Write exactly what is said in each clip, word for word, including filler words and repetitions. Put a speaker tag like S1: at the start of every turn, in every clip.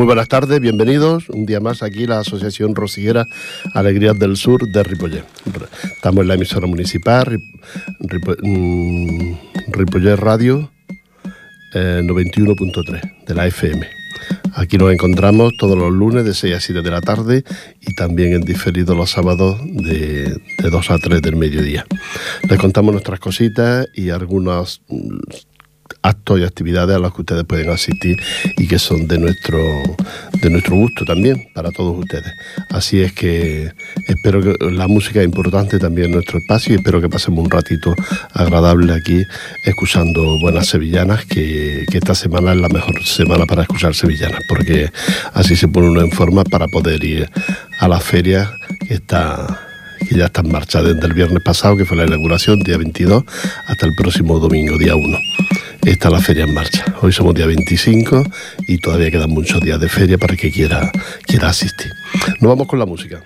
S1: Muy buenas tardes, bienvenidos un día más aquí la Asociación Rosiguera Alegrías del Sur de Ripollet. Estamos en la emisora municipal Ripo, mm, Ripollet Radio eh, noventa y uno punto tres de la F M. Aquí nos encontramos todos los lunes de seis a siete de la tarde y también en diferido los sábados de, de dos a tres del mediodía. Les contamos nuestras cositas y algunos actos y actividades a las que ustedes pueden asistir y que son de nuestro de nuestro gusto también para todos ustedes. Así es que espero que la música es importante también en nuestro espacio y espero que pasemos un ratito agradable aquí escuchando buenas sevillanas, que, que esta semana es la mejor semana para escuchar sevillanas, porque así se pone uno en forma para poder ir a la feria que está que ya está en marcha desde el viernes pasado, que fue la inauguración, día veintidós, hasta el próximo domingo, día uno. Está la feria en marcha. Hoy somos día veinticinco y todavía quedan muchos días de feria para el que quiera, quiera asistir. Nos vamos con la música.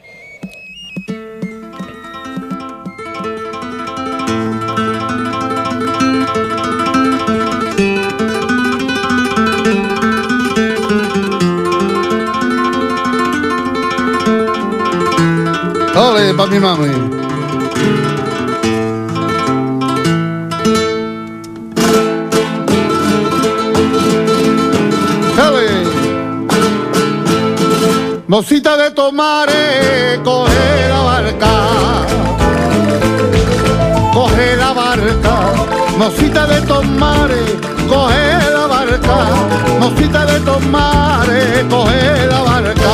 S2: ¡Ole, pa' mi mami! Mocita de Tomare, coge la barca, coge la barca. Mocita de Tomare, coge la barca. Mocita de Tomare, coge la barca.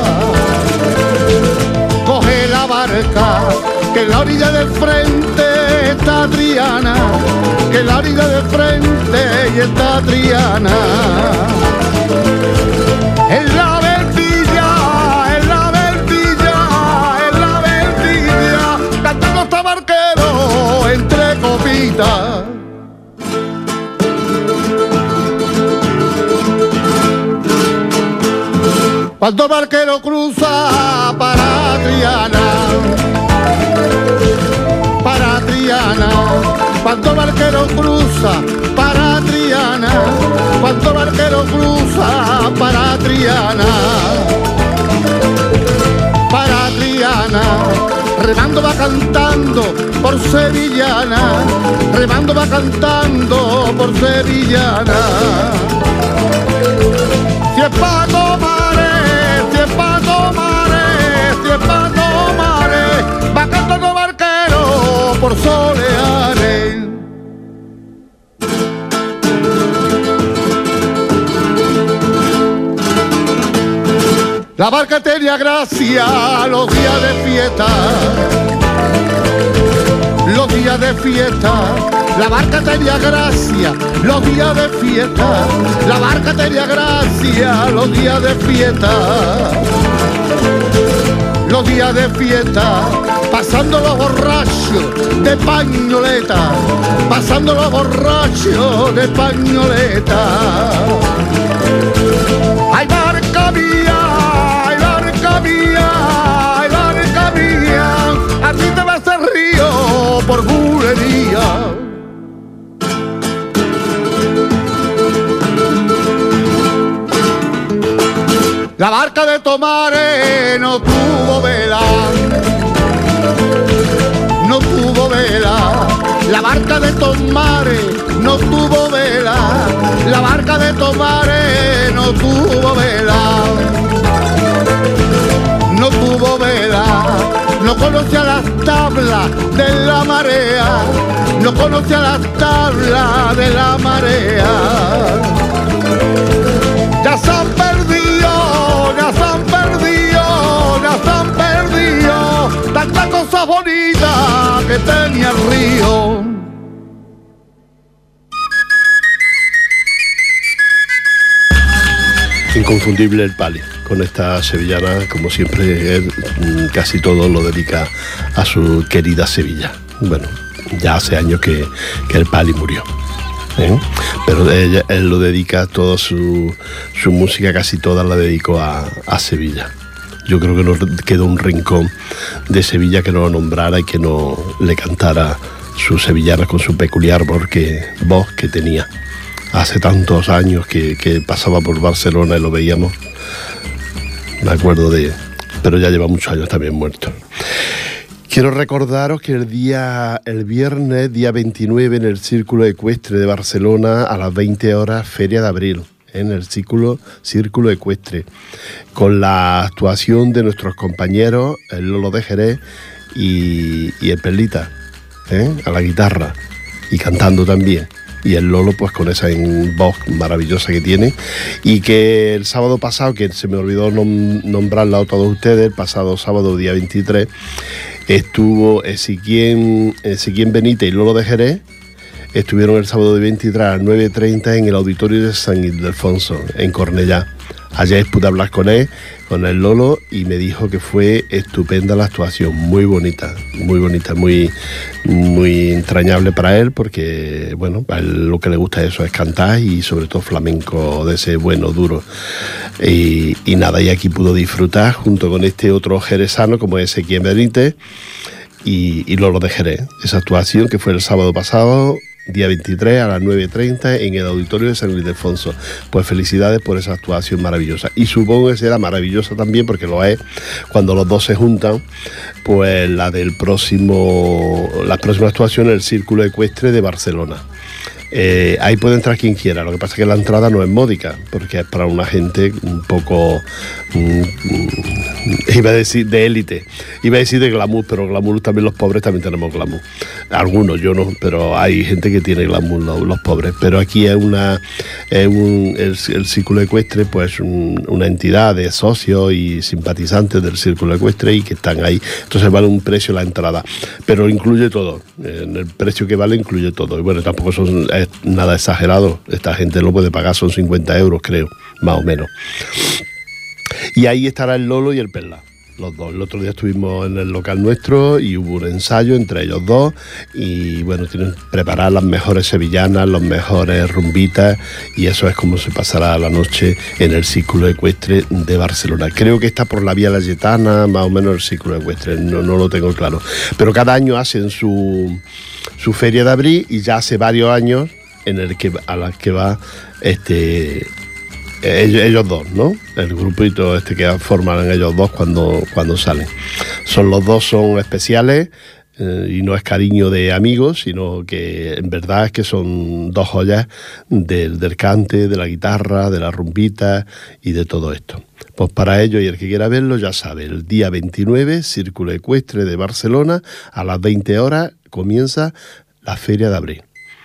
S2: Coge la barca, que en la orilla del frente está Triana, que en la orilla del frente y está Triana. En la entre copitas. Cuando el barquero cruza para Triana, para Triana. Cuando el barquero cruza para Triana, cuando el barquero cruza para Triana, para Triana. Remando va cantando por sevillana, remando va cantando por sevillana. Si es pa' tomare, si es pa' tomare, si es pa' tomare, va cantando barquero por Soleares. La barca tenía gracia los días de fiesta, los días de fiesta. La barca tenía gracia los días de fiesta, la barca tenía gracia los días de fiesta, los días de fiesta. Pasando los borrachos de pañoleta, pasando los borrachos de pañoleta. ¡Ay, barca mía! Mía, ay, barca mía, a ti te vas al río por bulería. La barca de Tomare no tuvo vela, no tuvo vela. La barca de Tomare no tuvo vela, la barca de Tomare no tuvo vela. No tuvo vela, no conocía las tablas de la marea, no conocía las tablas de la marea. Ya se han perdido, ya se han perdido, ya se han perdido tantas cosas bonitas que tenía el río.
S1: Inconfundible el Pali, con esta sevillana, como siempre, él casi todo lo dedica a su querida Sevilla. Bueno, ya hace años que, que el Pali murió, ¿eh? Pero ella, él lo dedica, toda su, su música, casi toda la dedicó a, a Sevilla. Yo creo que no quedó un rincón de Sevilla que no lo nombrara y que no le cantara su sevillana con su peculiar voz que, voz que tenía. hace tantos años que, que pasaba por Barcelona y lo veíamos. Me acuerdo de... pero ya lleva muchos años también muerto. Quiero recordaros que el día, el viernes, día veintinueve, en el Círculo Ecuestre de Barcelona, a las veinte horas, Feria de Abril, en el Círculo, Círculo Ecuestre, con la actuación de nuestros compañeros, el Lolo de Jerez y, y el Perlita, ¿eh? a la guitarra, y cantando también. Y el Lolo pues con esa voz maravillosa que tiene, y que el sábado pasado, que se me olvidó nom- nombrarla a todos ustedes, el pasado sábado día veintitrés, estuvo Ezequiel, Ezequiel Benítez y Lolo de Jerez, estuvieron el sábado de veintitrés a las nueve y treinta en el auditorio de San Ildefonso, en Cornellá. Ayer pude hablar con él, con el Lolo, y me dijo que fue estupenda la actuación, muy bonita, muy bonita, muy, muy entrañable para él, porque, bueno, a él lo que le gusta eso es cantar, y sobre todo flamenco de ese bueno, duro. Y, y nada, y aquí pudo disfrutar junto con este otro jerezano como es Ezequiel Benítez y, y Lolo de Jerez, esa actuación que fue el sábado pasado, día veintitrés a las nueve y treinta en el auditorio de San Ildefonso. Pues felicidades por esa actuación maravillosa, y supongo que será maravillosa también, porque lo es cuando los dos se juntan, pues la del próximo, la próxima actuación en el Círculo Ecuestre de Barcelona. Eh, ahí puede entrar quien quiera, lo que pasa es que la entrada no es módica, porque es para una gente un poco, mm, iba a decir de élite, iba a decir de glamour, pero glamour también los pobres también tenemos glamour, algunos, yo no, pero hay gente que tiene glamour, los, los pobres, pero aquí es una, es un, el, el Círculo Ecuestre, pues un, una entidad de socios y simpatizantes del Círculo Ecuestre, y que están ahí, entonces vale un precio la entrada, pero incluye todo, en el precio que vale incluye todo, y bueno, tampoco son es nada exagerado, esta gente lo puede pagar, son cincuenta euros creo, más o menos. Y ahí estará el Lolo y el Perla, los dos. El otro día estuvimos en el local nuestro y hubo un ensayo entre ellos dos, y bueno, tienen preparadas las mejores sevillanas, los mejores rumbitas, y eso es como se pasará la noche en el Círculo Ecuestre de Barcelona. Creo que está por la Vía Layetana, más o menos el Círculo Ecuestre, no, no lo tengo claro, pero cada año hacen su su feria de abril, y ya hace varios años en el que a la que va este ellos, ellos dos, ¿no? El grupito este que forman ellos dos cuando, cuando salen. Son los dos son especiales, eh, y no es cariño de amigos, sino que en verdad es que son dos joyas del, del cante, de la guitarra, de la rumbita y de todo esto. Pues para ello, y el que quiera verlo ya sabe, el día veintinueve, Círculo Ecuestre de Barcelona, a las veinte horas comienza la Feria de Abril.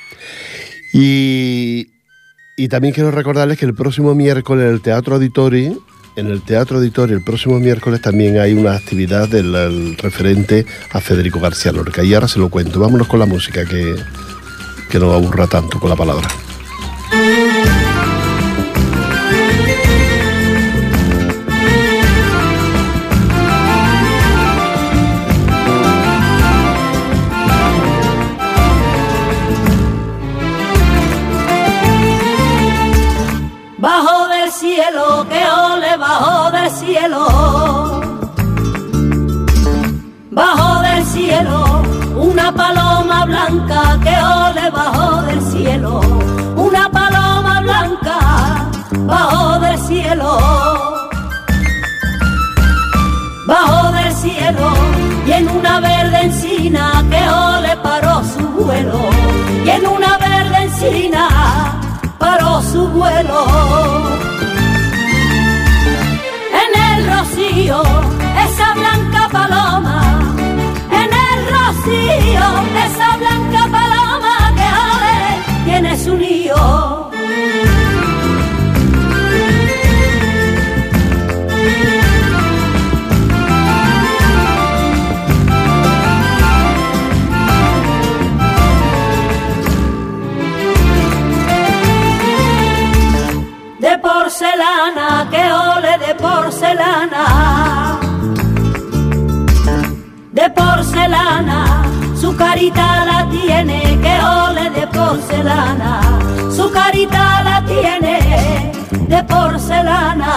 S1: Y, y también quiero recordarles que el próximo miércoles en el Teatro Auditori, en el Teatro Auditori el próximo miércoles también hay una actividad del del referente a Federico García Lorca. Y ahora se lo cuento. Vámonos con la música, que, que no aburra tanto con la palabra.
S3: Bajo del cielo, que ole, bajo del cielo, bajo del cielo, una paloma blanca, que ole, bajo del cielo, una paloma blanca, bajo del cielo, bajo del cielo, y en una verde encina, que ole, paró su vuelo, y en una verde encina paró su vuelo. En el rocío, esa blanca paloma, en el rocío, esa blanca paloma que ale tiene su nido. De porcelana, que ole de porcelana, de porcelana, su carita la tiene, que ole de porcelana, su carita la tiene, de porcelana,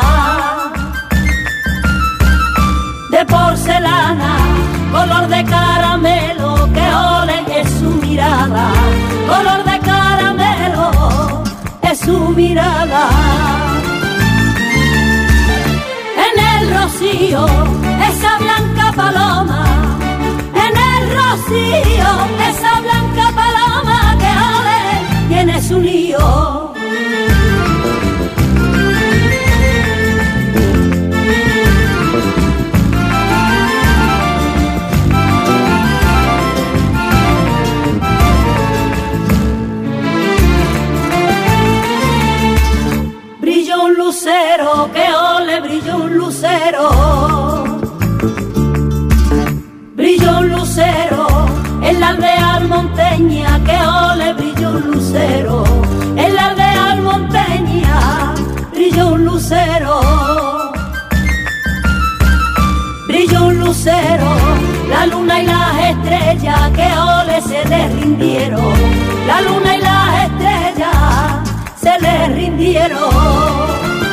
S3: de porcelana, color de caramelo, que ole es su mirada, color de caramelo su mirada. En el rocío, esa blanca paloma, en el rocío, esa blanca paloma que ole tiene su lío. Brilló un lucero, que ole, brilló un lucero. Brilló un lucero en la aldea almonteña, que ole, brilló un lucero. En la aldea almonteña brilló un lucero. Brilló un lucero, la luna y las estrellas, que ole, se le rindieron. La luna y las estrellas se le rindieron.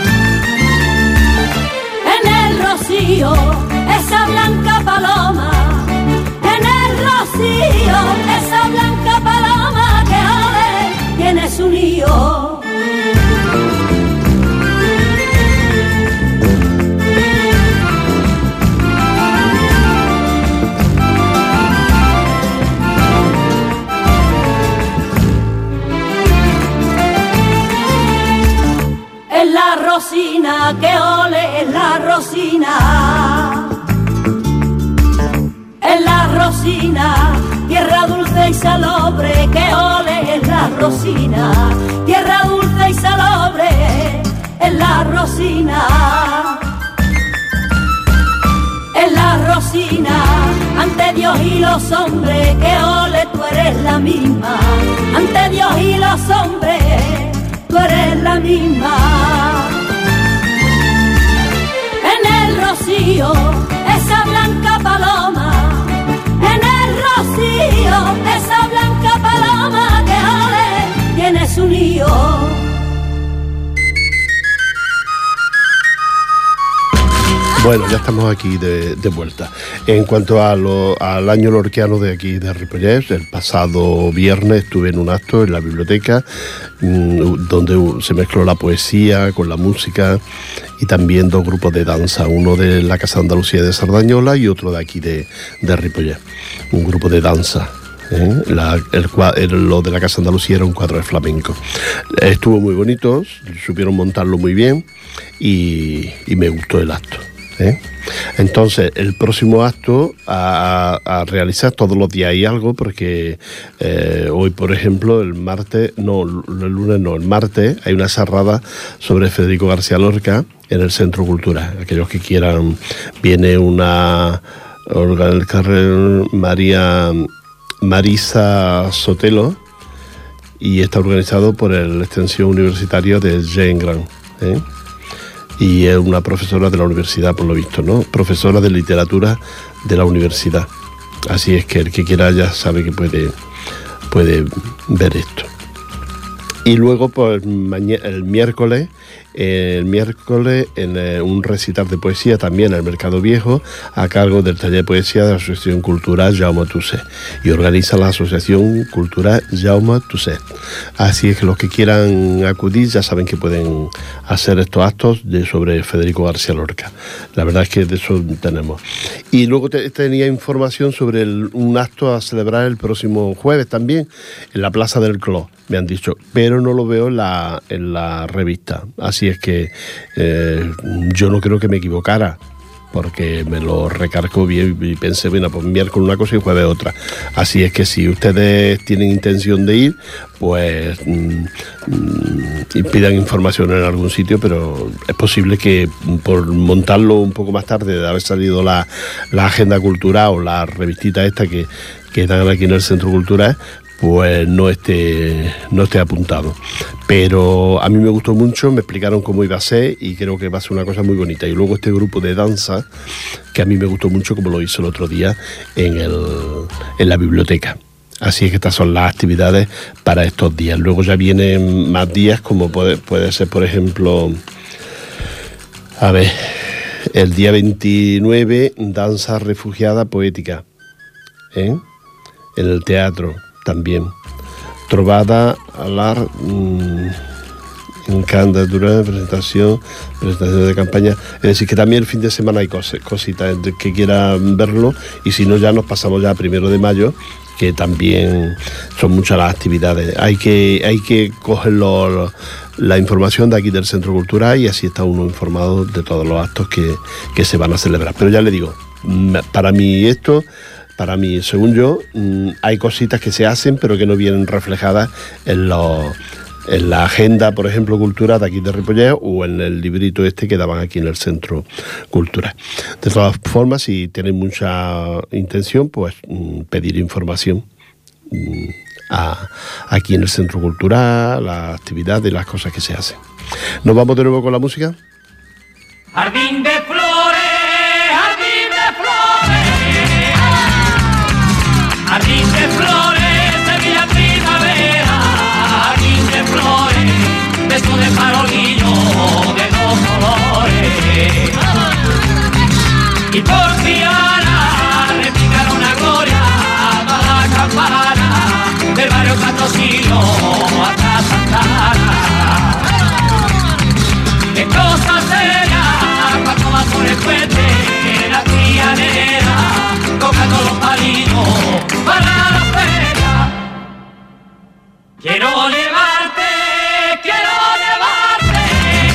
S3: En el rocío, esa blanca paloma, en el rocío, esa blanca paloma que ole tiene su lío. Es la rosina, que ole, es la rosina. Es la rosina, tierra dulce y salobre, que ole, es la rosina. Tierra dulce y salobre, es la rosina. Es la rosina, ante Dios y los hombres, que ole, tú eres la misma. Ante Dios y los hombres, tú eres la misma. En el rocío, esa blanca paloma, en el rocío, esa blanca paloma que ole tiene su lío.
S1: Bueno, ya estamos aquí de, de vuelta. En cuanto a lo, al año lorquiano de aquí de Ripollet, el pasado viernes estuve en un acto en la biblioteca mmm, donde se mezcló la poesía con la música y también dos grupos de danza, uno de la Casa de Andalucía de Sardañola y otro de aquí de, de Ripollet, un grupo de danza. ¿Eh? La, el, el, lo de la Casa de Andalucía era un cuadro de flamenco. Estuvo muy bonito, supieron montarlo muy bien y, y me gustó el acto. ¿Eh? Entonces el próximo acto a, a realizar todos los días hay algo porque eh, hoy por ejemplo el martes, no el lunes no, el martes hay una charrada sobre Federico García Lorca en el Centro Cultural. Aquellos que quieran, viene una María Marisa Sotelo y está organizado por el Extensión Universitaria de Jean Grand, ¿eh? Y es una profesora de la universidad, por lo visto, ¿no? Profesora de literatura de la universidad. Así es que el que quiera ya sabe que puede, puede ver esto. Y luego, pues, mañana, el miércoles, eh, el miércoles en eh, un recital de poesía también en el Mercado Viejo, a cargo del taller de poesía de la Asociación Cultural Jaume Tuset. Y organiza la Asociación Cultural Jaume Tuset. Así es que los que quieran acudir ya saben que pueden hacer estos actos de, sobre Federico García Lorca. La verdad es que de eso tenemos. Y luego te, tenía información sobre el, un acto a celebrar el próximo jueves también, en la Plaza del Clos, me han dicho, pero no lo veo en la, en la revista. Así es que eh, yo no creo que me equivocara, porque me lo recargó bien y pensé, bueno, pues miércoles una cosa y jueves otra. Así es que si ustedes tienen intención de ir, pues mmm, y pidan información en algún sitio, pero es posible que por montarlo un poco más tarde de haber salido la, la agenda cultural o la revistita esta que, que dan aquí en el Centro Cultural, pues no esté, no esté apuntado. Pero a mí me gustó mucho, me explicaron cómo iba a ser y creo que va a ser una cosa muy bonita. Y luego este grupo de danza, que a mí me gustó mucho como lo hizo el otro día en, el, en la biblioteca. Así es que estas son las actividades para estos días. Luego ya vienen más días, como puede, puede ser, por ejemplo, a ver, el día veintinueve, danza refugiada poética, ¿eh? En el teatro también. Trovada a la, mmm, En candidatura, presentación, presentación de campaña. Es decir, que también el fin de semana hay cos- cositas que quieran verlo, y si no ya nos pasamos ya a primero de mayo, que también son muchas las actividades. Hay que, hay que coger los, la información de aquí del Centro Cultural, y así está uno informado de todos los actos que, que se van a celebrar. Pero ya le digo, para mí esto, para mí, según yo, hay cositas que se hacen pero que no vienen reflejadas en los... en la agenda, por ejemplo, cultural de aquí de Ripollet, o en el librito este que daban aquí en el Centro Cultural. De todas formas, si tienen mucha intención, pues pedir información a, aquí en el Centro Cultural, las actividades y las cosas que se hacen. ¿Nos vamos de nuevo con la música?
S4: Jardín de flores, jardín de flores, jardín de flores, Sevilla primavera, jardín de flores, beso de farolillo de dos colores. Y por Triana le picaron una gloria a toda la campana del barrio Patrocinio hasta Santana. ¡Qué cosa seria cuando va por el puente la trianera tocando los palitos para la feria! Quiero llevarte, quiero llevarte,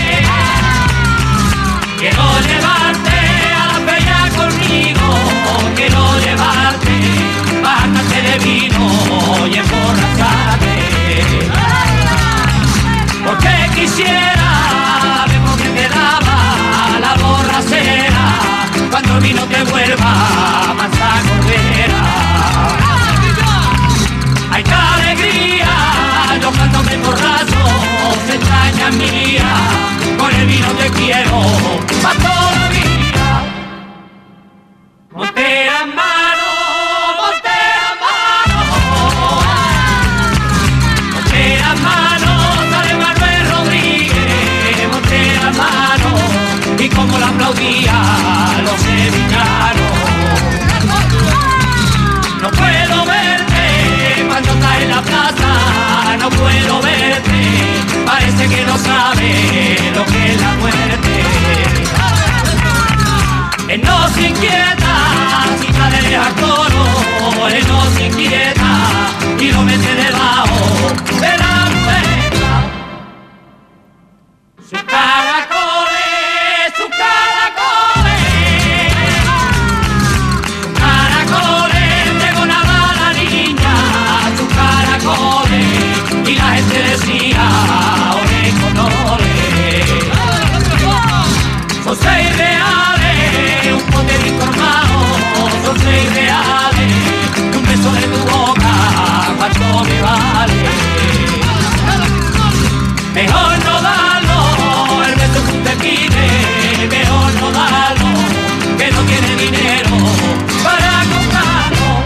S4: quiero llevarte a la feria conmigo, quiero llevarte, bájate de vino y emborracharte, porque quisiera ver por qué te daba la borracera cuando el vino te vuelva mansa cordera. ¡Ay, qué alegría! Yo cuando me emborracho, se extraña mía, con el vino te quiero pa' toda la vida. Montera en mano, montera en mano, montera en mano, sale Manuel Rodríguez, montera en mano, y como la aplaudía los sevillanos. No puedo verte cuando estás en la plaza, no puedo verte, parece que no sabe lo que es la muerte. Él no se inquieta, si está de lejos coro, él no se inquieta, y lo mete debajo de la muela. Sus caracoles, sus caracoles, sus caracoles, pregonaba la niña, sus caracoles, y la gente decía, ole con ole. Son seis reales, un pote de informado, son seis reales, y un beso de tu boca, ¿cuánto me vale? Mejor no darlo, el beso que usted pide, mejor no darlo, que no tiene dinero para comprarlo.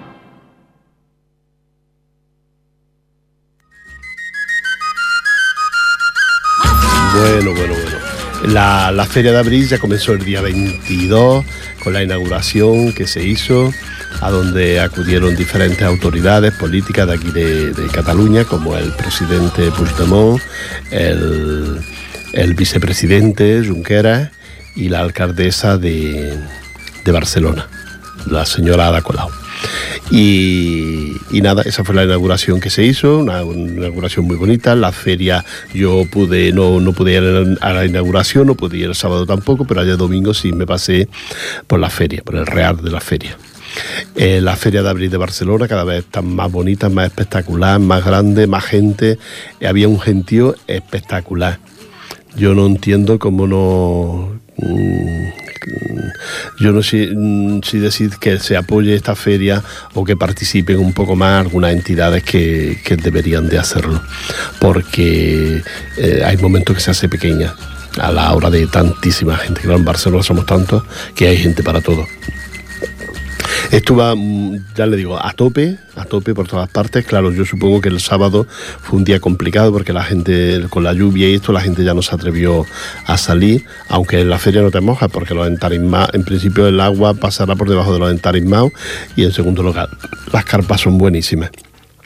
S1: Bueno, bueno, bueno. La, la Feria de Abril ya comenzó el día veintidós con la inauguración que se hizo, a donde acudieron diferentes autoridades políticas de aquí de, de Cataluña, como el presidente Puigdemont, el, el vicepresidente Junqueras y la alcaldesa de, de Barcelona, la señora Ada Colau. Y, y nada, esa fue la inauguración que se hizo, una, una inauguración muy bonita. La feria, yo pude no, no pude ir a la inauguración, no pude ir el sábado tampoco, pero ayer domingo sí me pasé por la feria, por el real de la feria. Eh, la Feria de Abril de Barcelona cada vez está más bonita, más espectacular, más grande, más gente. Eh, había un gentío espectacular. Yo no entiendo cómo no... Mmm, yo no sé si decir que se apoye esta feria o que participen un poco más algunas entidades que, que deberían de hacerlo, porque eh, hay momentos que se hace pequeña a la hora de tantísima gente. Claro, en Barcelona somos tantos que hay gente para todo. Estuvo, ya le digo, a tope, a tope por todas partes. Claro, yo supongo que el sábado fue un día complicado porque la gente, con la lluvia y esto, la gente ya no se atrevió a salir, aunque en la feria no te mojas porque los entarismados, en principio el agua pasará por debajo de los entarismados, y en segundo lugar, las carpas son buenísimas.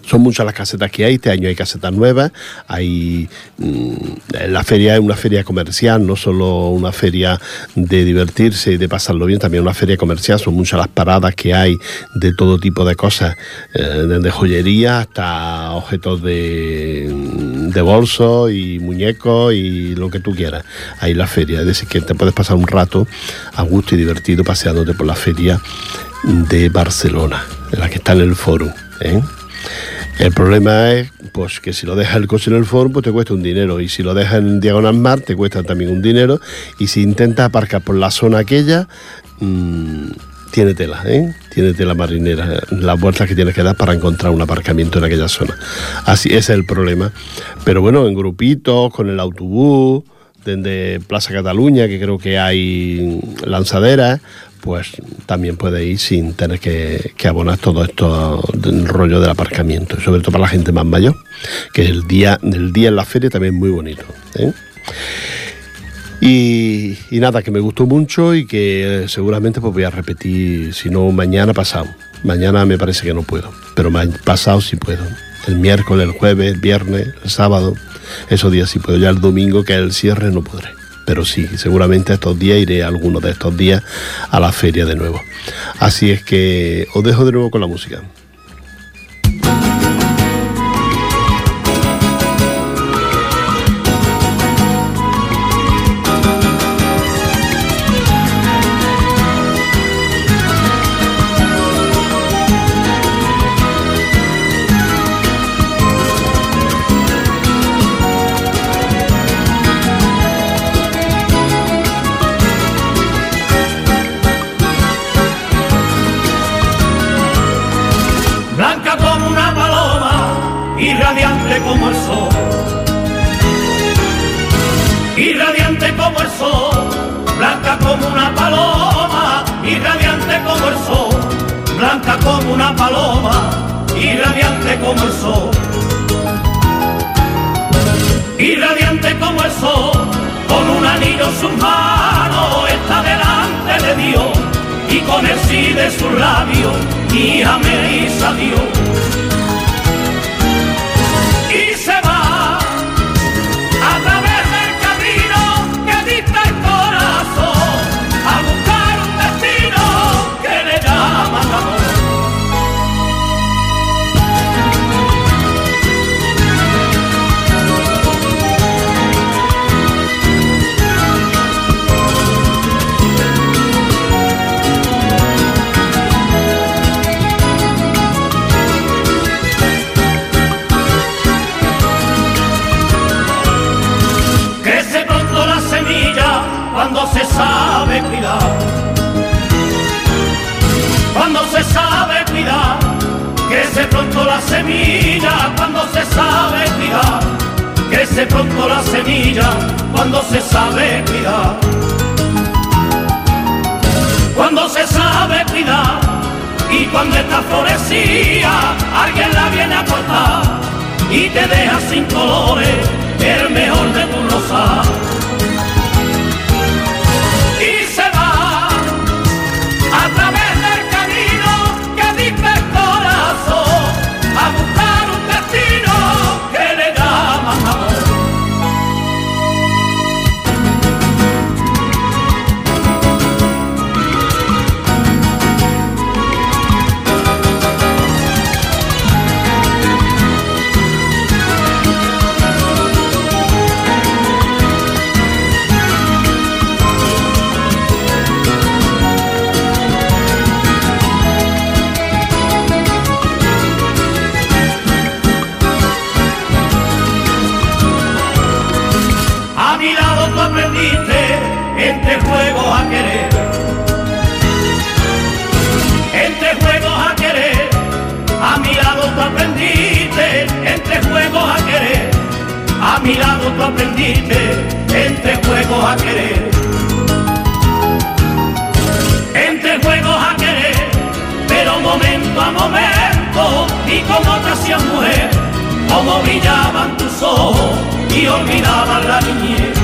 S1: Son muchas las casetas que hay, este año hay casetas nuevas, hay mmm, la feria es una feria comercial, no solo una feria de divertirse y de pasarlo bien, también una feria comercial, son muchas las paradas que hay de todo tipo de cosas, eh, desde joyería hasta objetos de, de bolsos y muñecos y lo que tú quieras, ahí en la feria, es decir, que te puedes pasar un rato a gusto y divertido paseándote por la feria de Barcelona, en la que está en el Fórum, ¿eh? El problema es pues que si lo dejas el coche en el Fórum, pues te cuesta un dinero, y si lo dejas en Diagonal Mar te cuesta también un dinero, y si intentas aparcar por la zona aquella, mmm, tiene tela, ¿eh? Tiene tela marinera, las vueltas que tienes que dar para encontrar un aparcamiento en aquella zona. Así, ese es el problema. Pero bueno, en grupitos, con el autobús, desde Plaza Cataluña, que creo que hay lanzaderas, pues también puede ir sin tener que, que abonar todo esto del rollo del aparcamiento, sobre todo para la gente más mayor, que el día, el día en la feria también es muy bonito, ¿eh? Y, y nada, que me gustó mucho y que seguramente pues voy a repetir, si no mañana, pasado. Mañana me parece que no puedo, pero pasado sí puedo. El miércoles, el jueves, el viernes, el sábado, esos días sí puedo. Ya el domingo, que es el cierre, no podré. Pero sí, seguramente estos días iré a algunos de estos días a la feria de nuevo. Así es que os dejo de nuevo con la música.
S4: Como el sol, irradiante como el sol, blanca como una paloma, irradiante como el sol, blanca como una paloma, irradiante como el sol, irradiante como el sol, con un anillo en sus manos está delante de Dios, y con el sí de sus labios, hija me hizo Dios. Se va a través del camino que dicta el corazón a buscar un destino que le llaman amor. Cuando se sabe cuidar, cuando se sabe cuidar, crece pronto la semilla, cuando se sabe cuidar, crece pronto la semilla, cuando se sabe cuidar, cuando se sabe cuidar, y cuando está florecida, alguien la viene a cortar, y te deja sin colores, el mejor de tu rosal. A través del camino que dicta el corazón a buscar un destino que le llaman amor. Entre juegos a querer, entre juegos a querer, a mi lado tú aprendiste, entre juegos a querer, a mi lado tú aprendiste, entre juegos a querer, entre juegos a querer, pero momento a momento, y como te hacías mujer, como brillaban tus ojos y olvidaban la niñez.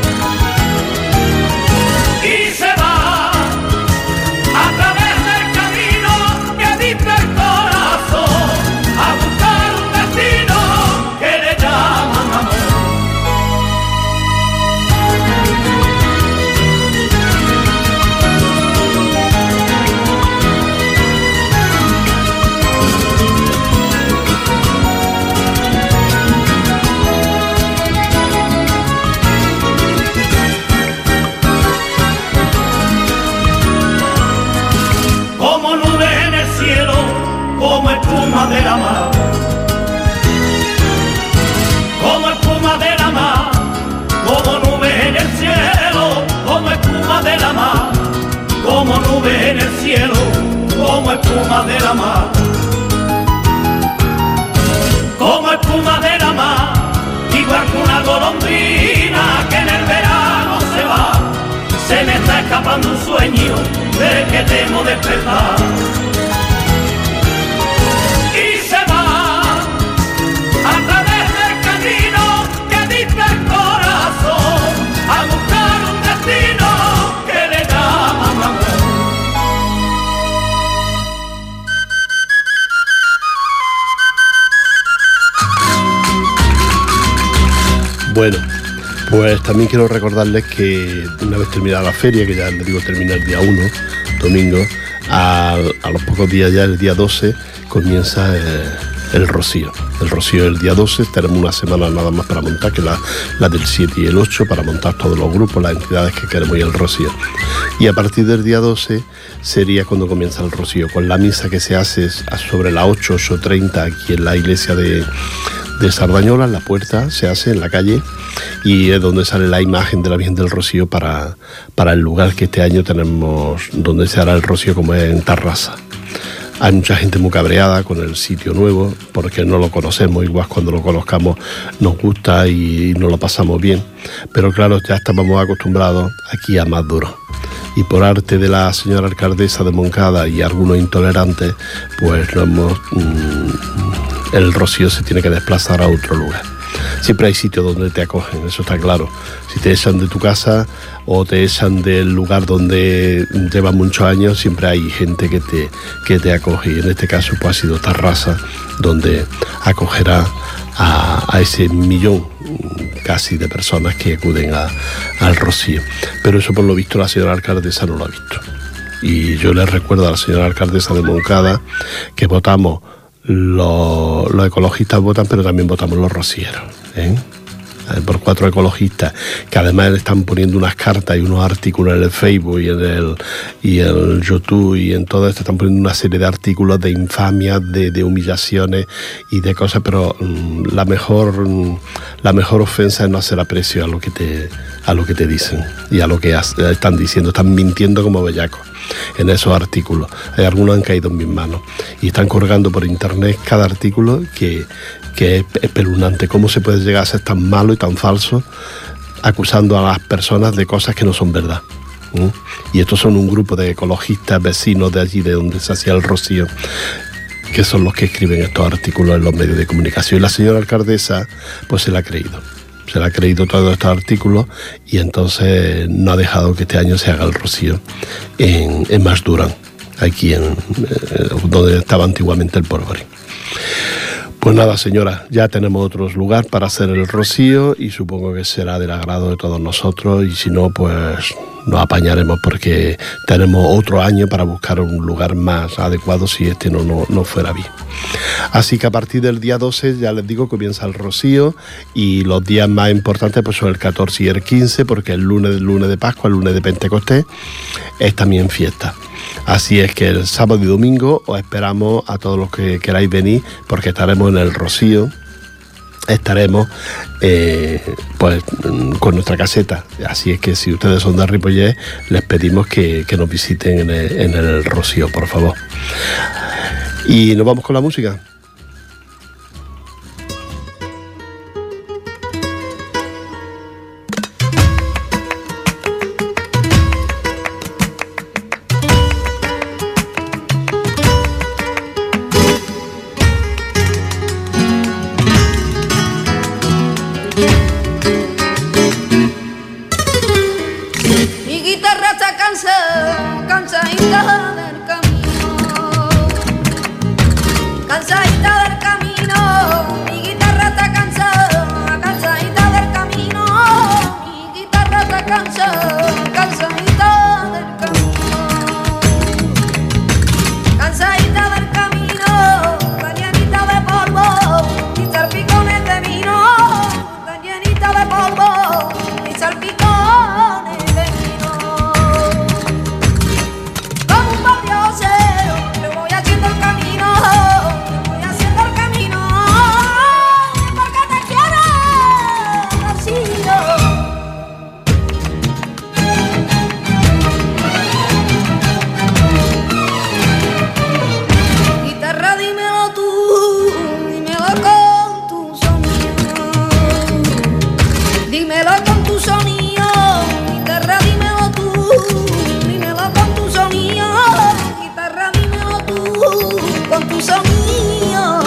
S4: Y se va a través del camino que dicta el corazón a buscar como espuma de la mar, como espuma de la mar, como nube en el cielo, como espuma de la mar, como nube en el cielo, como espuma de la mar, como espuma de la mar, igual que una golondrina que en el verano se va. Se me está escapando un sueño del que temo despertar. Y se va a través del camino que dicta el corazón, a buscar un destino que le llama amor.
S1: Bueno, pues también quiero recordarles que una vez terminada la feria, que ya les digo termina el día uno, domingo, a, a los pocos días ya, el día doce, comienza eh, el rocío. El rocío el día doce, tenemos una semana nada más para montar, que la, la del siete y el ocho, para montar todos los grupos, las entidades que queremos ir al rocío. Y a partir del día doce sería cuando comienza el rocío, con la misa que se hace sobre las ocho, ocho treinta aquí en la iglesia de... de Sardañola, en la puerta, se hace en la calle, y es donde sale la imagen de la Virgen del Rocío para, para el lugar que este año tenemos, donde se hará el rocío, como es en Tarrasa. Hay mucha gente muy cabreada con el sitio nuevo, porque no lo conocemos, igual cuando lo conozcamos nos gusta y nos lo pasamos bien, pero claro, ya estamos acostumbrados aquí a más duro. Y por arte de la señora alcaldesa de Moncada y algunos intolerantes, pues no hemos... Mmm, el rocío se tiene que desplazar a otro lugar. Siempre hay sitios donde te acogen, eso está claro. Si te echan de tu casa o te echan del lugar donde llevas muchos años, siempre hay gente que te, que te acoge. Y en este caso pues ha sido Tarrasa, donde acogerá a, a ese millón casi de personas que acuden a, al rocío. Pero eso por lo visto la señora alcaldesa no lo ha visto. Y yo les recuerdo a la señora alcaldesa de Moncada que votamos. Los, los ecologistas votan, pero también votamos los rocieros, ¿eh? Por cuatro ecologistas, que además le están poniendo unas cartas y unos artículos en el Facebook y en el, y en el YouTube y en todo esto, están poniendo una serie de artículos de infamias, de, de humillaciones y de cosas, pero um, la mejor um, la mejor ofensa es no hacer aprecio a lo que te, a lo que te dicen y a lo que has, están diciendo, están mintiendo como bellacos en esos artículos. Hay algunos han caído en mis manos y están colgando por internet cada artículo que, que es espeluznante. ¿Cómo se puede llegar a ser tan malo y tan falso acusando a las personas de cosas que no son verdad? ¿Mm? Y estos son un grupo de ecologistas vecinos de allí de donde se hacía el rocío, que son los que escriben estos artículos en los medios de comunicación. Y la señora alcaldesa pues se la ha creído. Se le ha creído todos estos artículos y entonces no ha dejado que este año se haga el rocío en, en Masdurán, aquí en eh, donde estaba antiguamente el Polvorín. Pues nada, señora, ya tenemos otros lugares para hacer el rocío y supongo que será del agrado de todos nosotros, y si no, pues nos apañaremos porque tenemos otro año para buscar un lugar más adecuado si este no, no, no fuera bien. Así que a partir del día doce, ya les digo, comienza el rocío, y los días más importantes pues son el catorce y el quince, porque el lunes, el lunes de Pascua, el lunes de Pentecostés, es también fiesta. Así es que el sábado y domingo os esperamos a todos los que queráis venir, porque estaremos en el rocío, estaremos eh, pues con nuestra caseta. Así es que si ustedes son de Ripollet, les pedimos que, que nos visiten en el, en el rocío, por favor. Y nos vamos con la música.
S5: Mi guitarra está cansada, cansadita del camino, cansadita. con tu sonido,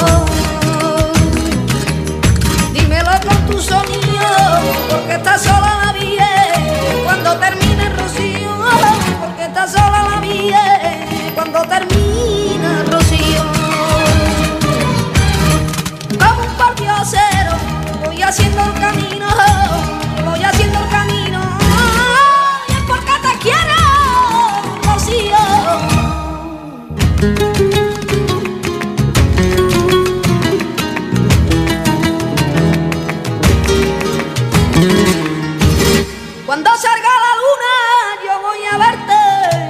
S5: dímelo con tu sonido, porque estás sola la vida cuando termine el rocío, porque estás sola la vida cuando termine el rocío. Como un pordiosero voy haciendo el camino, voy haciendo el camino, y es porque te quiero, rocío. Cuando salga la luna yo voy a verte,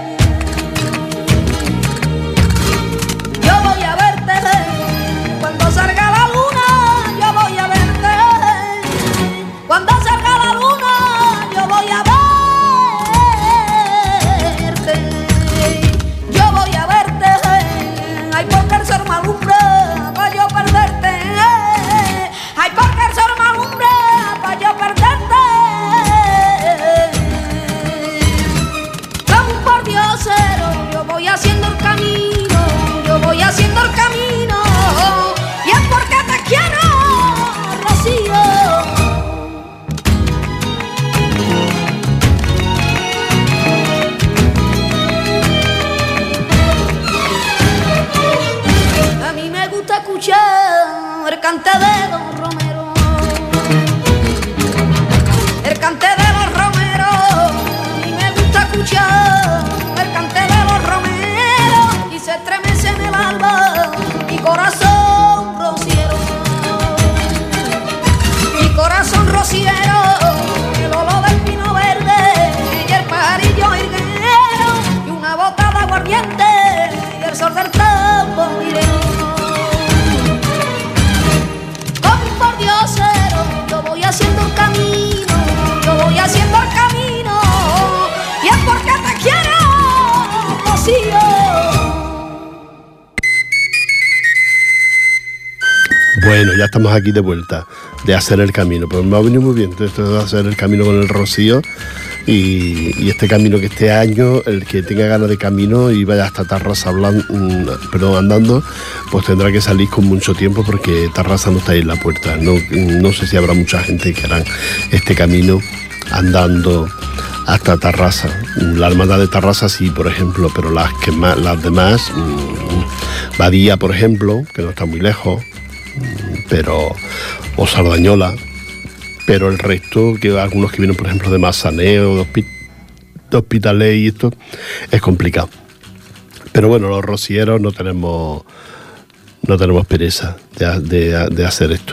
S5: yo voy a verte. Cuando salga la luna yo voy a verte, cuando salga la luna yo voy a verte, yo voy a verte. Ay, porque el sol me alumbra para yo perderte, ay, porque el sol me alumbra para yo perderte. Yo voy haciendo el camino, yo voy haciendo el camino, y es porque te quiero, Rocío. A mí me gusta escuchar el cante de los romeros, el cante de los romeros. A mí me gusta escuchar el cante de los romeros, y se estremece en el alma mi corazón rociero, mi corazón rociero, el olor del pino verde y el pajarillo higuero, y una bota de aguardiente y el sol del tamborilero. Como un pordiosero yo voy haciendo el camino, yo voy haciendo el camino, y es porque te quiero, Rocío.
S1: Bueno, ya estamos aquí de vuelta, de hacer el camino. Pues me ha venido muy bien esto de hacer el camino con el Rocío, y, y este camino que este año, el que tenga ganas de camino y vaya hasta Tarrasa hablando, perdón, andando, pues tendrá que salir con mucho tiempo, porque Tarrasa no está ahí en la puerta. No, no sé si habrá mucha gente que hará este camino andando hasta Tarrasa. La Hermandad de Tarrasa sí, por ejemplo, pero las que más, las demás, mmm, Badía, por ejemplo, que no está muy lejos, pero o Sardañola, pero el resto, que algunos que vienen, por ejemplo, de Massaneo, de, Hospi- de Hospitalet y esto, es complicado. Pero bueno, los rocieros no tenemos no tenemos pereza de, de, de hacer esto.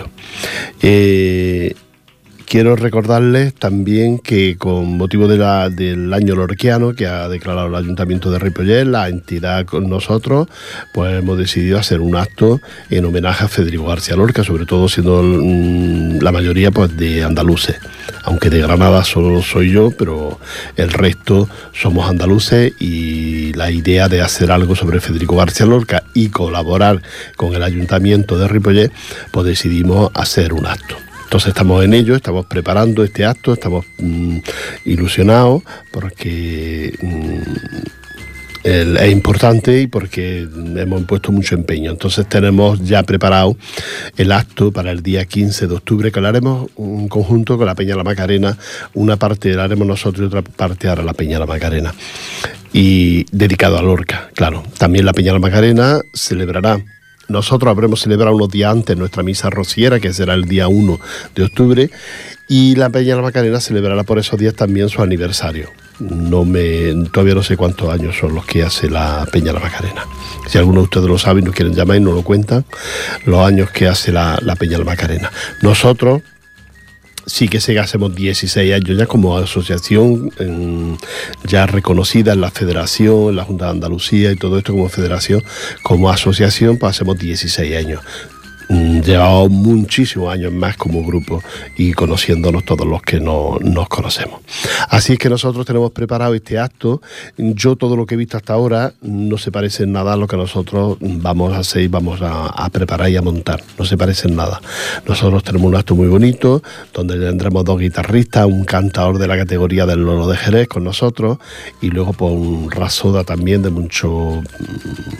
S1: Eh, Quiero recordarles también que con motivo de la, del año lorquiano que ha declarado el Ayuntamiento de Ripollet, la entidad con nosotros, pues hemos decidido hacer un acto en homenaje a Federico García Lorca, sobre todo siendo mmm, la mayoría pues de andaluces, aunque de Granada solo soy yo, pero el resto somos andaluces, y la idea de hacer algo sobre Federico García Lorca y colaborar con el Ayuntamiento de Ripollet, pues decidimos hacer un acto. Entonces estamos en ello, estamos preparando este acto, estamos mmm, ilusionados porque mmm, el, es importante y porque hemos puesto mucho empeño. Entonces tenemos ya preparado el acto para el día quince de octubre, que lo haremos en conjunto con la Peña La Macarena. Una parte la haremos nosotros y otra parte hará la Peña La Macarena. Y dedicado a Lorca, claro. También la Peña La Macarena celebrará. Nosotros habremos celebrado unos días antes nuestra misa rociera, que será el día uno de octubre, y la Peña La Macarena celebrará por esos días también su aniversario. No me, todavía no sé cuántos años son los que hace la Peña La Macarena. Si alguno de ustedes lo sabe y nos quieren llamar y nos lo cuentan, los años que hace la, la Peña La Macarena. Nosotros sí que sé que hacemos dieciséis años ya como asociación, en, ya reconocida en la Federación, en la Junta de Andalucía y todo esto como federación, como asociación, pues hacemos dieciséis años. Llevamos muchísimos años más como grupo y conociéndonos todos los que no, nos conocemos. Así es que nosotros tenemos preparado este acto. Yo todo lo que he visto hasta ahora no se parece en nada a lo que nosotros vamos a hacer y vamos a, a preparar y a montar. No se parece en nada. Nosotros tenemos un acto muy bonito donde tendremos dos guitarristas, un cantador de la categoría del Loro de Jerez con nosotros y luego pues un rasoda también de mucho...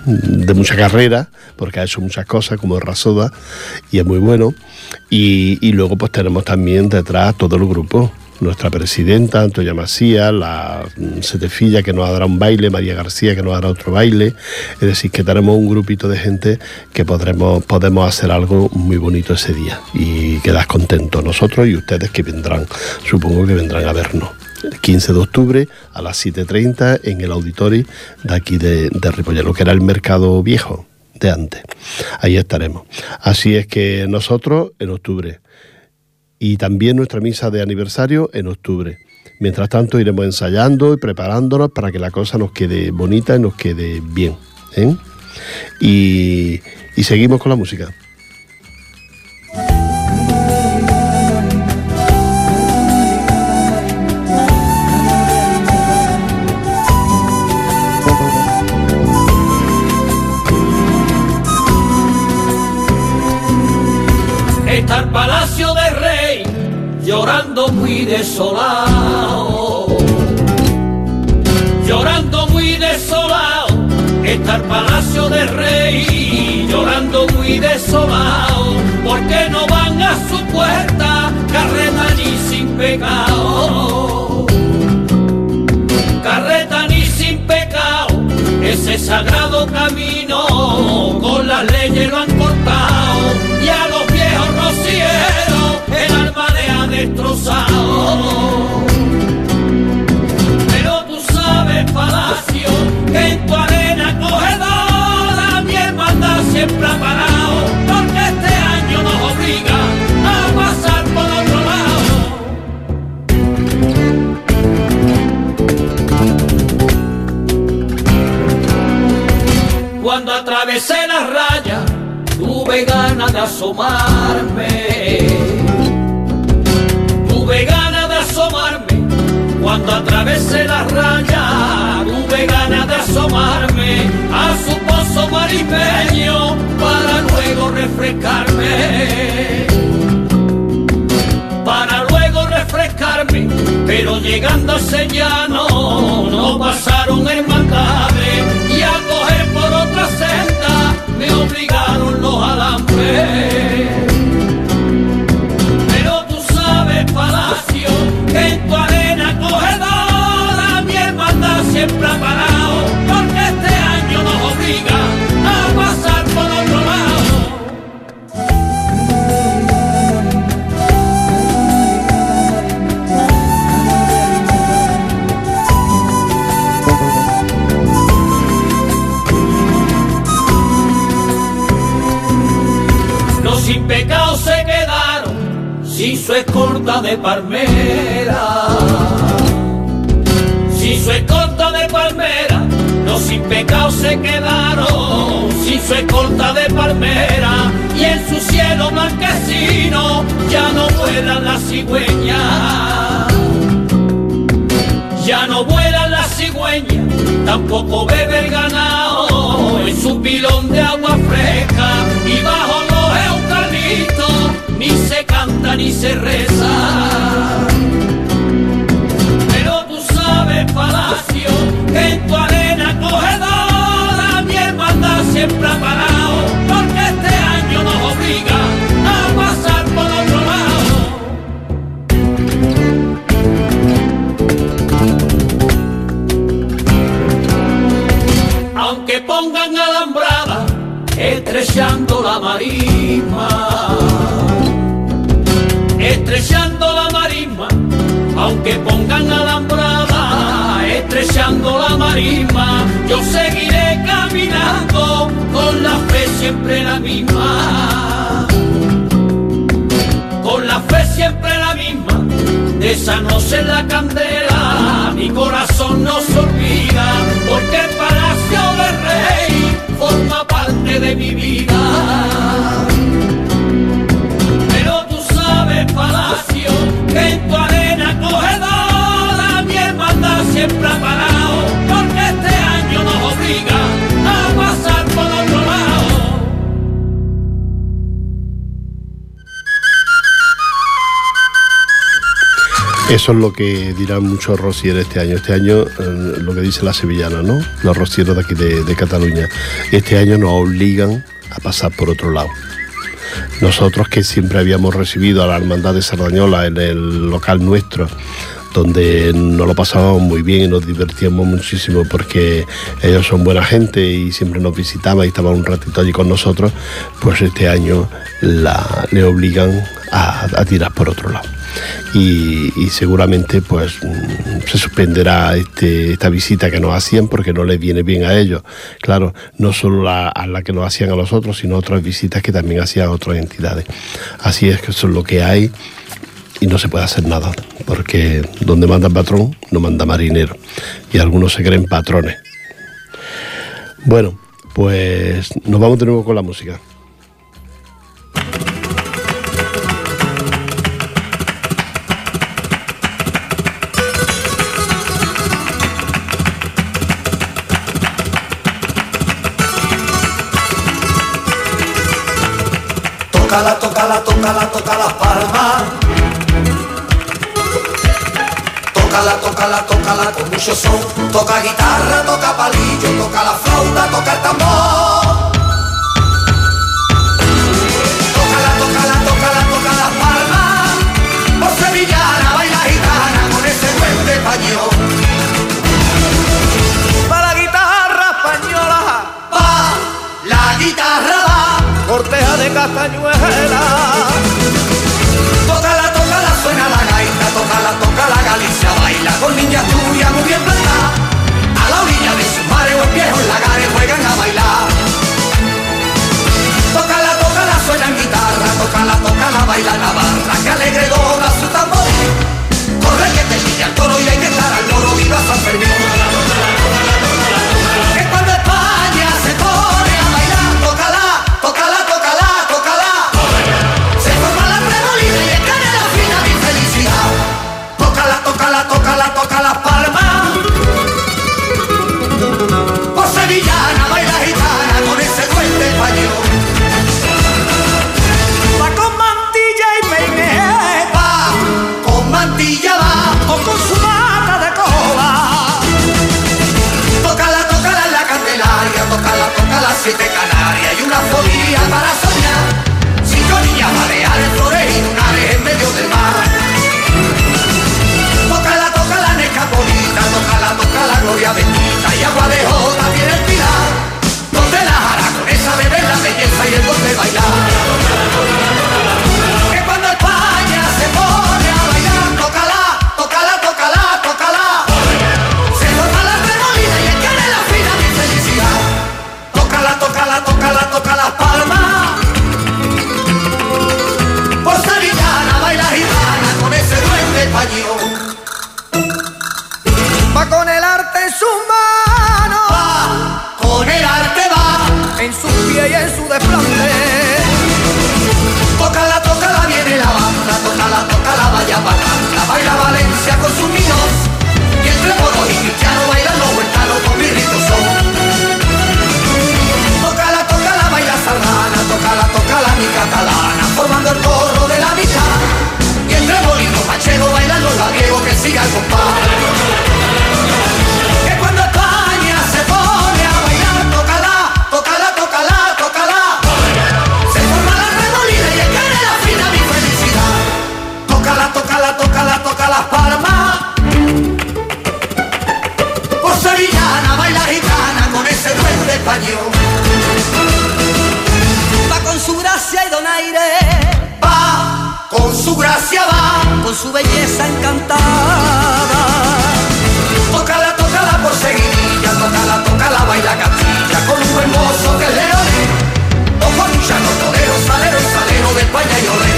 S1: de mucha carrera, porque ha hecho muchas cosas como Rasoda y es muy bueno. Y, y luego pues tenemos también detrás todo el grupo. Nuestra presidenta, Antonia Macías, la Setefilla, que nos dará un baile, María García, que nos dará otro baile. Es decir, que tenemos un grupito de gente que podremos, podemos hacer algo muy bonito ese día y quedar contentos nosotros y ustedes que vendrán, supongo que vendrán a vernos. El quince de octubre a las siete y treinta en el auditorio de aquí de, de Ripollet, lo que era el mercado viejo de antes. Ahí estaremos. Así es que nosotros en octubre. Y también nuestra misa de aniversario en octubre. Mientras tanto iremos ensayando y preparándonos para que la cosa nos quede bonita y nos quede bien, ¿eh? Y, y seguimos con la música.
S4: Está el Palacio del Rey llorando muy desolado, llorando muy desolado. Está el Palacio del Rey llorando muy desolado, porque no van a su puerta carreta ni sin pecado, carreta ni sin pecado. Ese sagrado camino con las leyes lo han cortado y a los viejos rocieros el alma le ha destrozado. Pero tú sabes, Palacio, que en tu arena cogedora mi hermandad siempre ha parado, porque este año nos obliga a pasar por otro lado. Cuando atravesé la raya tuve ganas de asomarme, tuve ganas de asomarme. Cuando atravesé la raya tuve ganas de asomarme a su pozo maripeño para luego refrescarme, para luego refrescarme. Pero llegando a ese llano no pasaron hermandades y a coger por otra senda me obligaron los alambres. Pero tú sabes, Palacio, que en tu arena cogedora mi hermandad siempre ha parado, porque este año nos obliga a pasar por otro lado. Sin pecado se quedaron sin su escolta de palmera, sin su escolta de palmera. Los sin pecado se quedaron sin su escolta de palmera, y en su cielo blanquecino ya no vuelan las cigüeñas, ya no vuelan las cigüeñas, tampoco bebe el ganado en su pilón de agua fresca, y bajo ni se canta ni se reza. Pero tú sabes, Palacio, que en tu arena cogedora mi hermandad siempre ha parado, porque este año nos obliga a pasar por otro lado. Aunque pongan alambrada estrechando la marisma, estrechando la marisma, aunque pongan alambrada, estrechando la marisma, yo seguiré caminando con la fe siempre la misma, con la fe siempre la misma. De esa noche en la candela mi corazón no se olvida, porque el Palacio del Rey forma parte de mi vida. Palacio, que en tu arena cogedora mi hermandad siempre ha parado, porque este año nos obliga a pasar por otro lado.
S1: Eso es lo que dirán muchos rocieros este año. Este año, eh, lo que dice la sevillana, ¿no? Los rocieros de aquí de, de Cataluña. Este año nos obligan a pasar por otro lado. Nosotros que siempre habíamos recibido a la Hermandad de Sardañola en el local nuestro, donde nos lo pasábamos muy bien y nos divertíamos muchísimo porque ellos son buena gente y siempre nos visitaban y estaban un ratito allí con nosotros, pues este año la, le obligan a, a tirar por otro lado. Y, y seguramente pues se suspenderá este, esta visita que nos hacían porque no les viene bien a ellos. Claro, no solo la, a la que nos hacían a los otros, sino otras visitas que también hacían a otras entidades. Así es que eso es lo que hay. Y no se puede hacer nada, porque donde manda patrón, no manda marinero. Y algunos se creen patrones. Bueno, pues nos vamos de nuevo con la música.
S6: Tócala, tócala, tócala, toca las palmas. Tócala, tócala, tócala con mucho son. Toca guitarra, toca palillo, toca la flauta, toca el tambor. Tócala, tócala, tócala, toca las palmas. Por sevillana, baila gitana con ese duende español. Pa' la guitarra española, pa' la guitarra va, corteja de castañuela. Tócala, tócala, suena la gaita, tócala, tócala, Galicia baila con niñas tuyas muy bien plantadas. A la orilla de sus mares o en viejos lagares juegan a bailar. Tócala, tócala, suena en guitarra, tócala, tócala, baila Navarra, que alegre dobla su tamboril. Corre que te pilla el toro y hay que estar al loro, viva San Fermín. Que cuando España se pone a bailar, tócala, tócala, tócala, tócala. Se forma la remolina y en canela fina mi felicidad. Tócala, tócala, tócala, toca las palmas. Por sevillana baila gitana con ese duende español. Va con mantilla y peine, va con mantilla va, o con su mata de cola. Tócala, tócala en la Candelaria, tócala, tócala siete Canarias y una folía para soñar. Cinco niñas baleares, flores y lunares en medio del mar. Tócala, tócala en Escaponita, tócala, tócala Gloria Bendita y agua de jota tiene el pilar. Donde la jaraconesa bebe la belleza y el don de bailar. Que cuando España se pone a bailar, tócala, tócala, tócala, tócala. Se forma la remolina y en canela fina mi felicidad. Tócala, tócala, tócala, toca las palmas. Por sevillana baila gitana con ese duende español. Va con el arte en sus manos, va con el arte va, en su pie y en su desplante. Tócala, tócala, viene la banda, tócala, tócala, vaya bacanta, baila Valencia con sus niños, y entre moros y cristianos bailan los huertanos con mi rito son. Tócala, tócala, baila sardana, tócala, tócala, mi catalana, formando el coro de la mitad, y entre molinos manchegos bailan los labiegos que siga el compás. Que cuando España se pone a bailar, tócala, tócala, tócala, tócala. Se forma la remolina y en canela fina mi felicidad. Tócala, tócala, tócala, toca las palmas. Por sevillana baila gitana con ese duende español. Va con su gracia y donaire, va con su gracia va, con su belleza encantada. Tócala, tócala por seguidilla, tócala, tócala, baila Castilla con un buen mozo que es leonés, o con un llano torero, salero y salero de España y olé.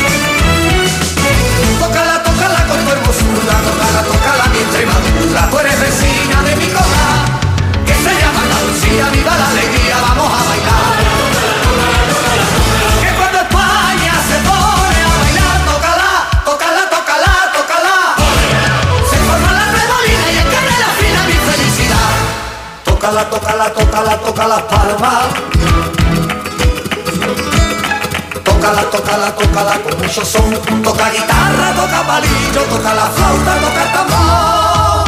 S6: Tócala, tócala con tu hermosura, tócala, tócala mi Extremadura. Tú eres vecina de mi cola, que se llama Andalucía, viva la alegría, vamos a bailar. Que cuando España se pone a bailar, tócala, tócala, tócala, tócala. tócala, tócala, tócala con mucho son. Toca guitarra, toca palillo, toca la flauta, toca el tambor.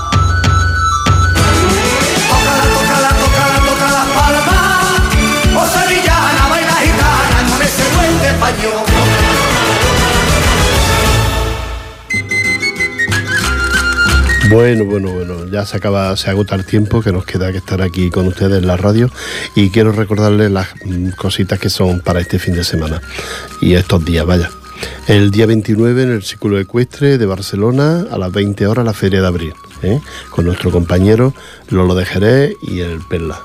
S6: Tócala, tócala, tócala, toca las palmas. O sevillana, baila gitana con ese buen de español.
S1: Bueno, bueno, bueno, ya se acaba, se agota el tiempo que nos queda que estar aquí con ustedes en la radio y quiero recordarles las cositas que son para este fin de semana y estos días, vaya. El día veintinueve en el Círculo Ecuestre de Barcelona a las veinte horas la Feria de Abril, ¿eh? Con nuestro compañero Lolo de Jerez y el Perla,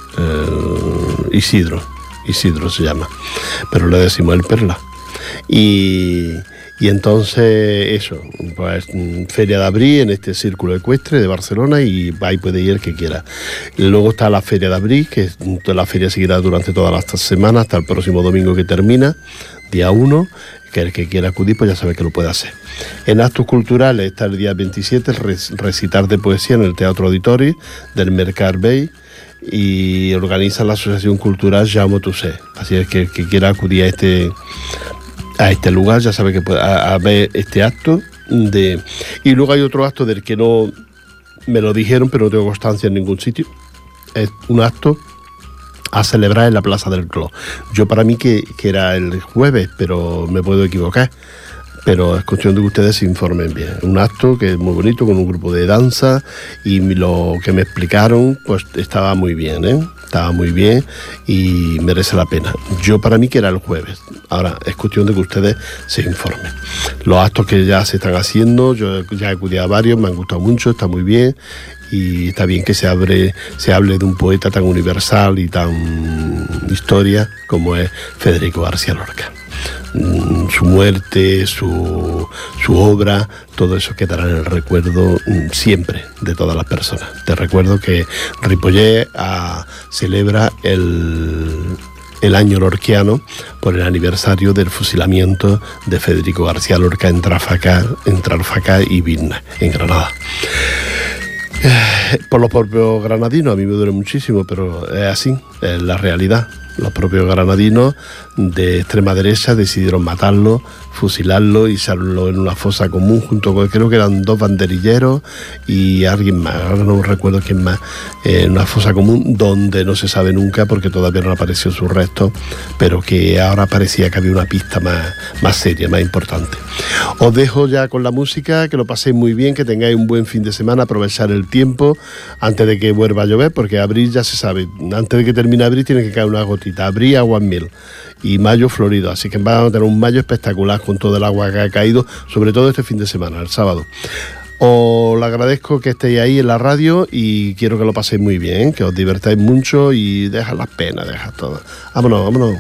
S1: el Isidro, Isidro se llama, pero le decimos el Perla. Y... Y entonces, eso, pues Feria de Abril en este Círculo Ecuestre de Barcelona y ahí puede ir el que quiera. Luego está la Feria de Abril, que la feria seguirá durante todas las semanas hasta el próximo domingo que termina, día uno, que el que quiera acudir pues ya sabe que lo puede hacer. En actos culturales está el día veintisiete, el recitar de poesía en el Teatro Auditori del Mercat Vell y organiza la Asociación Cultural Jaume Tuset. Así es que el que quiera acudir a este... a este lugar, ya sabe que puede a, a ver este acto de... Y luego hay otro acto del que no me lo dijeron, pero no tengo constancia en ningún sitio. Es un acto a celebrar en la Plaza del Clos. Yo para mí que, que era el jueves, pero me puedo equivocar. Pero es cuestión de que ustedes se informen bien. Un acto que es muy bonito, con un grupo de danza, y lo que me explicaron, pues estaba muy bien, ¿eh? Estaba muy bien y merece la pena. Yo para mí que era el jueves. Ahora, es cuestión de que ustedes se informen. Los actos que ya se están haciendo, yo ya he acudido a varios, me han gustado mucho, está muy bien. Y está bien que se, abre, se hable de un poeta tan universal y tan historia como es Federico García Lorca. Su muerte, su, su obra, todo eso quedará en el recuerdo siempre de todas las personas. Te recuerdo que Ripollet a, celebra el, el año lorquiano por el aniversario del fusilamiento de Federico García Lorca en Trafalgar, en Trafalgar y Vilna, en Granada. Por los propios granadinos, a mí me duele muchísimo, pero es así, es la realidad. Los propios granadinos de extrema derecha decidieron matarlo, fusilarlo y echarlo en una fosa común junto con, creo que eran dos banderilleros y alguien más, ahora no recuerdo quién más, en una fosa común donde no se sabe nunca porque todavía no apareció su resto, pero que ahora parecía que había una pista más, más seria, más importante. Os dejo ya con la música, que lo paséis muy bien, que tengáis un buen fin de semana, aprovechar el tiempo antes de que vuelva a llover, porque abril ya se sabe, antes de que termine abril tiene que caer una gotita, abril agua en mil y mayo florido, así que vamos a tener un mayo espectacular con todo el agua que ha caído, sobre todo este fin de semana, el sábado. Os lo agradezco que estéis ahí en la radio y quiero que lo paséis muy bien, que os divertáis mucho y dejad las penas, dejad todo. Vámonos, vámonos.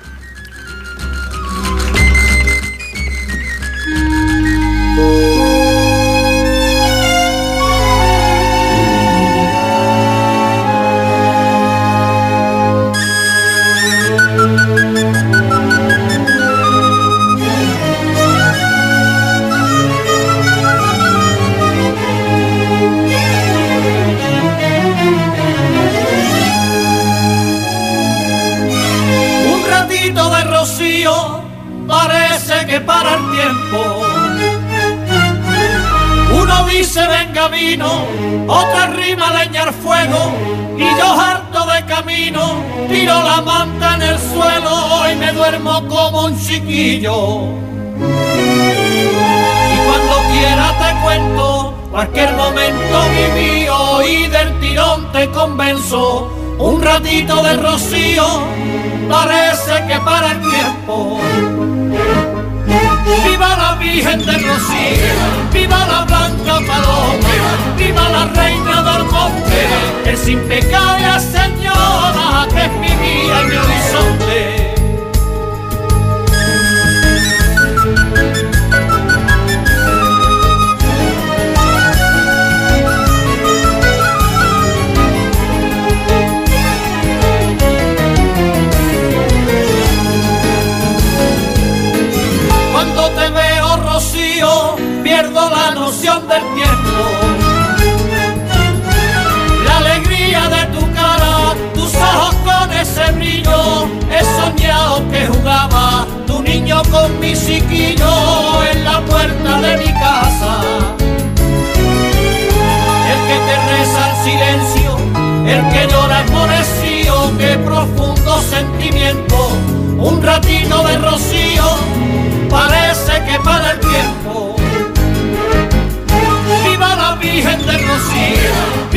S4: Parece que para el tiempo. Uno dice venga vino, otra rima leña al fuego, y yo harto de camino tiro la manta en el suelo y me duermo como un chiquillo. Y cuando quiera te cuento cualquier momento vivido y del tirón te convenzo. Un ratito de rocío parece que para el tiempo. Viva la Virgen de Rocío, viva la Blanca Paloma, viva la Reina del Monte, que sin pecado es señora, que es mi vida y mi horizonte. Pierdo la noción del tiempo, la alegría de tu cara con mi chiquillo en la puerta de mi casa. El que te reza en silencio, el que llora enmudecido, qué profundo sentimiento, un ratito de rocío, parece que para el tiempo. Viva la Virgen de Rocío,